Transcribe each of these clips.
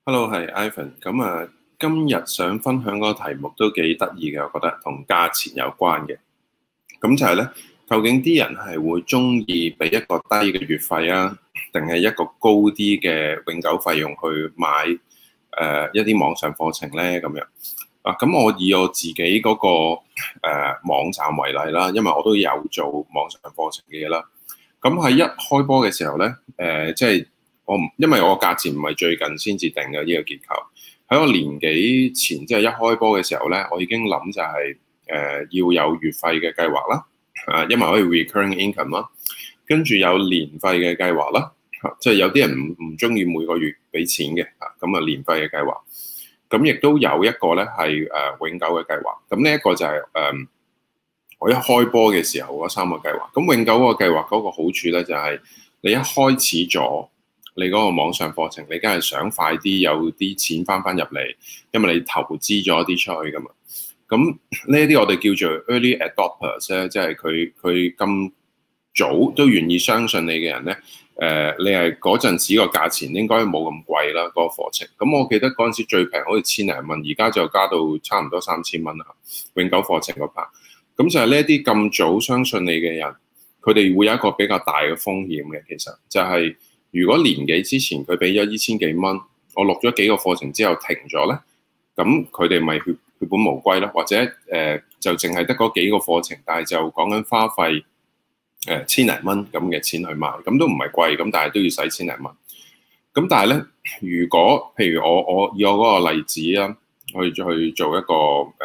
Hello，係 Ivan。今日想分享嗰個題目都幾得意嘅，我覺得同價錢有關嘅。咁就係咧，究竟啲人係會中意俾一個低嘅月費啊，定係一個高啲嘅永久費用去買一啲網上課程咧？咁樣咁我以我自己嗰個網站為例啦，因為我都有做網上課程嘅嘢啦。咁喺一開波嘅時候咧，即係因為我價錢唔係最近先至定嘅呢個結構，喺我年幾前即係一開波嘅時候咧，我已經諗就係要有月費嘅計劃啦，因為可以 recurring income 啦，跟住有年費嘅計劃啦，即係有啲人唔中意每個月俾錢嘅，咁啊年費嘅計劃，咁亦都有一個咧係永久嘅計劃，咁呢一個就係我一開波嘅時候嗰三個計劃，咁永久嗰個計劃嗰個好處咧就係你一開始咗你嗰個網上課程，你梗係想快啲有啲錢翻入嚟，因為你投資咗啲出去噶嘛。咁呢啲我哋叫做 early adopters 咧，即係佢咁早都願意相信你嘅人咧。你係嗰陣時個價錢應該冇咁貴啦，嗰個課程。咁我記得嗰陣時最平好似千零蚊，而家就加到差唔多3000蚊啦。永久課程嗰 part，咁就係呢一啲咁早相信你嘅人，佢哋會有一個比較大嘅風險嘅。其實就係如果年幾之前佢俾咗1000幾蚊，我錄咗幾個課程之後停咗咧，咁佢哋咪血本無歸咯，或者就淨係得嗰幾個課程，但係就講緊花費千零蚊咁嘅錢去買，咁都唔係貴，咁但係都要使千零蚊。咁但係咧，如果譬如我以我嗰個例子啊，去做一個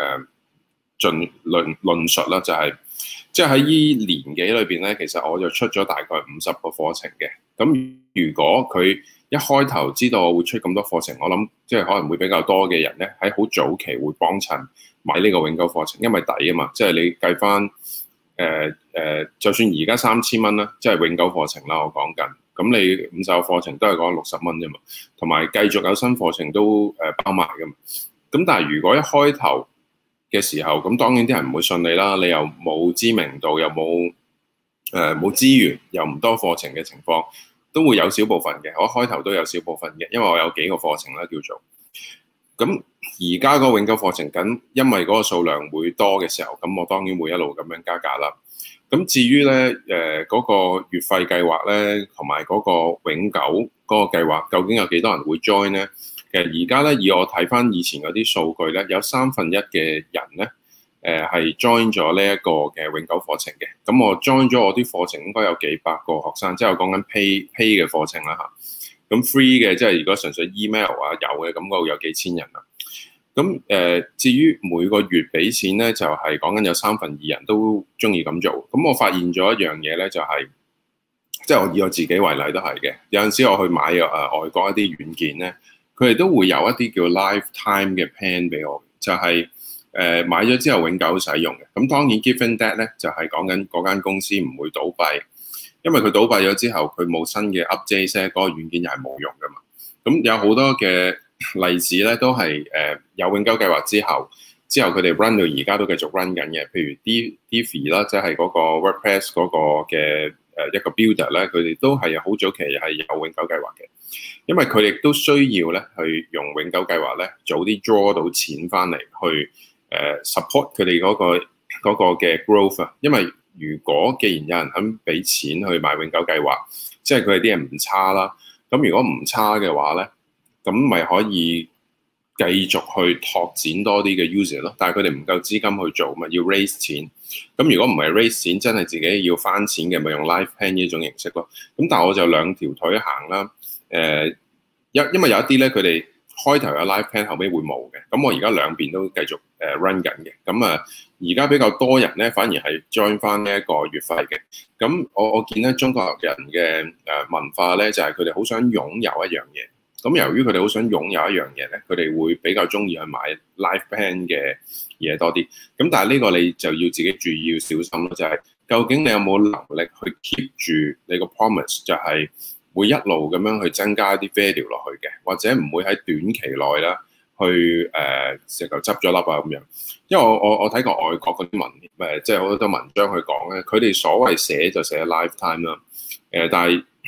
論述啦，就係即係喺依年幾裏邊咧，其實我就出咗大概50個課程嘅。咁如果佢一開頭知道我會出咁多課程，我諗即係可能會比較多嘅人咧，喺好早期會幫襯買呢個永久課程，因為抵啊嘛。即係你計翻就算而家3000蚊啦，即係永久課程啦，我講緊。咁你50個課程都係講60蚊啫嘛，同埋繼續有新課程都包埋噶嘛。咁但係如果一開頭嘅時候，咁當然啲人唔會信你啦，你又冇知名度，又冇資源，又唔多課程嘅情況，都會有少部分嘅。我開頭都有少部分嘅，因為我有幾個課程啦叫做。咁而家嗰個永久課程緊，因為嗰個數量會多嘅時候，咁我當然會一路咁樣加價啦。咁至於咧嗰個月費計劃咧，同埋嗰個永久嗰個計劃，究竟有幾多人會 join 咧？其實而家咧，以我睇翻以前嗰啲數據咧，有1/3嘅人咧，係 join 咗呢一個嘅永久課程嘅。咁我 join 咗我啲課程，應該有幾百個學生，即係我講緊 pay 嘅課程啦嚇。咁 free 嘅，即係如果純粹 email 啊有嘅，咁嗰度有幾千人啦。咁至於每個月俾錢咧，就係講緊有2/3人都中意咁做。咁我發現咗一樣嘢咧，就係即係我以我自己為例都係嘅。有陣時我去買外國一啲軟件咧，佢哋都會有一啲叫 lifetime 嘅 plan 俾我，就係買咗之後永久使用嘅。咁當然 given that 咧，就係講緊嗰間公司唔會倒閉，因為佢倒閉咗之後，佢冇新嘅 update 咧，嗰個軟件又係冇用噶嘛。咁有好多嘅例子咧，都係有永久計劃之後佢哋 run 到而家都繼續 run 緊嘅。譬如 Divi 啦，即係嗰個 WordPress 嗰個嘅一個 builder 咧，佢哋都係好早期係有永久計劃嘅，因為佢哋都需要咧去用永久計劃咧早啲 draw 到錢翻嚟去support 佢哋嗰個嘅 growth 啊。因為如果既然有人肯俾錢去買永久計劃，即係佢哋啲人唔差啦。咁如果唔差嘅話咧，咁咪可以繼續去拓展多啲嘅 user 咯。但係佢哋唔夠資金去做，咪要 raise 錢。咁如果唔係 raise 錢，真係自己要翻錢嘅，咪用 live plan 呢種形式咯。咁但係我就兩條腿行啦。因為有一啲咧，佢哋開頭有 live plan，後尾會冇嘅。咁我而家兩邊都繼續run 緊嘅。咁而家比較多人咧，反而係 join 翻呢一個月費嘅。咁我見咧中國人嘅文化咧，就係佢哋好想擁有一樣嘢。咁由於佢哋好想擁有一樣嘢咧，佢哋會比較中意去買 live plan 嘅嘢多啲。咁但係呢個你就要自己注意要小心咯，就係究竟你有冇能力去 keep 住你個 promise，就係會一路咁樣去增加啲 value 落去嘅，或者唔會喺短期內啦去直頭執咗粒啊咁樣。因為我睇過外國嗰啲即係好多文章去講咧，佢哋所謂寫就寫 lifetime 啦，但係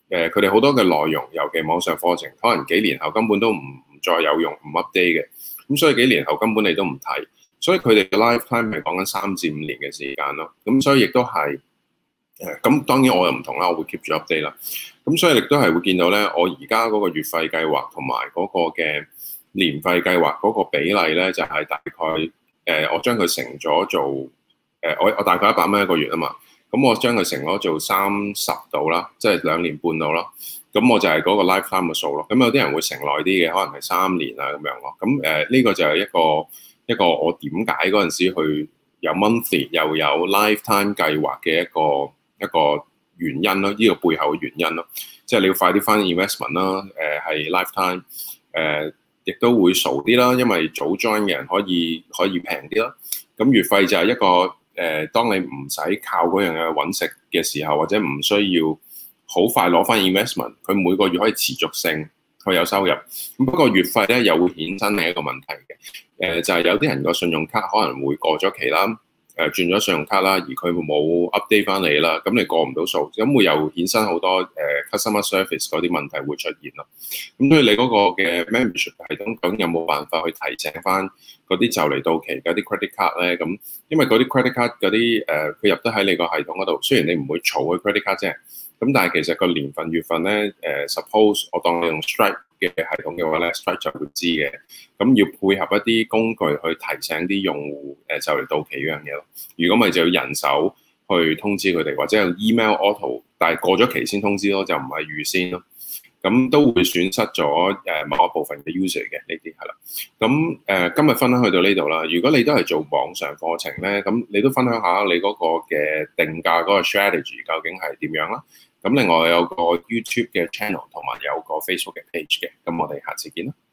佢哋好多嘅內容，尤其網上課程，可能幾年後根本都唔再有用，唔 update 嘅。咁所以幾年後根本你都唔睇，所以佢哋嘅 lifetime 係講緊3至5年嘅時間咯。咁所以亦都係咁當然我又唔同啦，我會 keep 住 update 啦。咁所以亦都係會見到咧，我而家嗰個月費計劃同埋嗰個嘅年費計劃嗰個比例咧，就係大概我將佢乘咗做我大概100蚊一個月啊嘛。咁我將佢乘咗做30度啦，即係2年半度啦。咁我就係嗰個 lifetime 嘅數咯。咁有啲人會乘耐啲嘅，可能係3年啊咁樣咯。咁呢個就係一個我點解嗰陣時去有 monthly 又有 lifetime 計劃嘅一個原因咯，呢個背後嘅原因咯。即係你要快啲翻 investment 啦，係 lifetime，亦都會傻啲啦，因為早 join 嘅人可以平啲啦。咁月費就係一個當你唔使靠嗰樣嘢揾食嘅時候，或者唔需要好快攞翻 investment，佢每個月可以持續性去有收入。咁不過月費咧又會衍生另一個問題嘅，就係有啲人個信用卡可能會過咗期啦，轉咗信用卡啦，而佢冇 update 翻你啦，咁你過唔到數，咁會又衍生好多customer service 嗰啲問題會出現咯。咁所以你嗰個嘅 membership 系統究竟有冇辦法去提醒翻嗰啲就嚟到期嗰啲 credit card 咧？咁因為嗰啲 credit card 嗰啲佢入得喺你個系統嗰度，雖然你唔會儲佢 credit card 啫，咁但係其實個年份月份咧suppose 我當你用 Stripe 嘅系統嘅話咧 ，Stripe 就會知嘅。咁要配合一啲工具去提醒啲用戶就嚟到期嗰樣嘢咯。如果咪就要人手去通知佢哋，或者用 email auto， 但係過咗期先通知咯，就唔係預先咯。咁都會損失咗某一部分嘅 user 嘅呢啲係啦。咁今日分享去到呢度啦。如果你都係做網上課程咧，咁你都分享下你嗰個嘅定價嗰個 strategy 究竟係點樣啦？咁另外有個 YouTube 嘅 channel 同埋有個 Facebook 嘅 page 嘅。咁我哋下次見啦。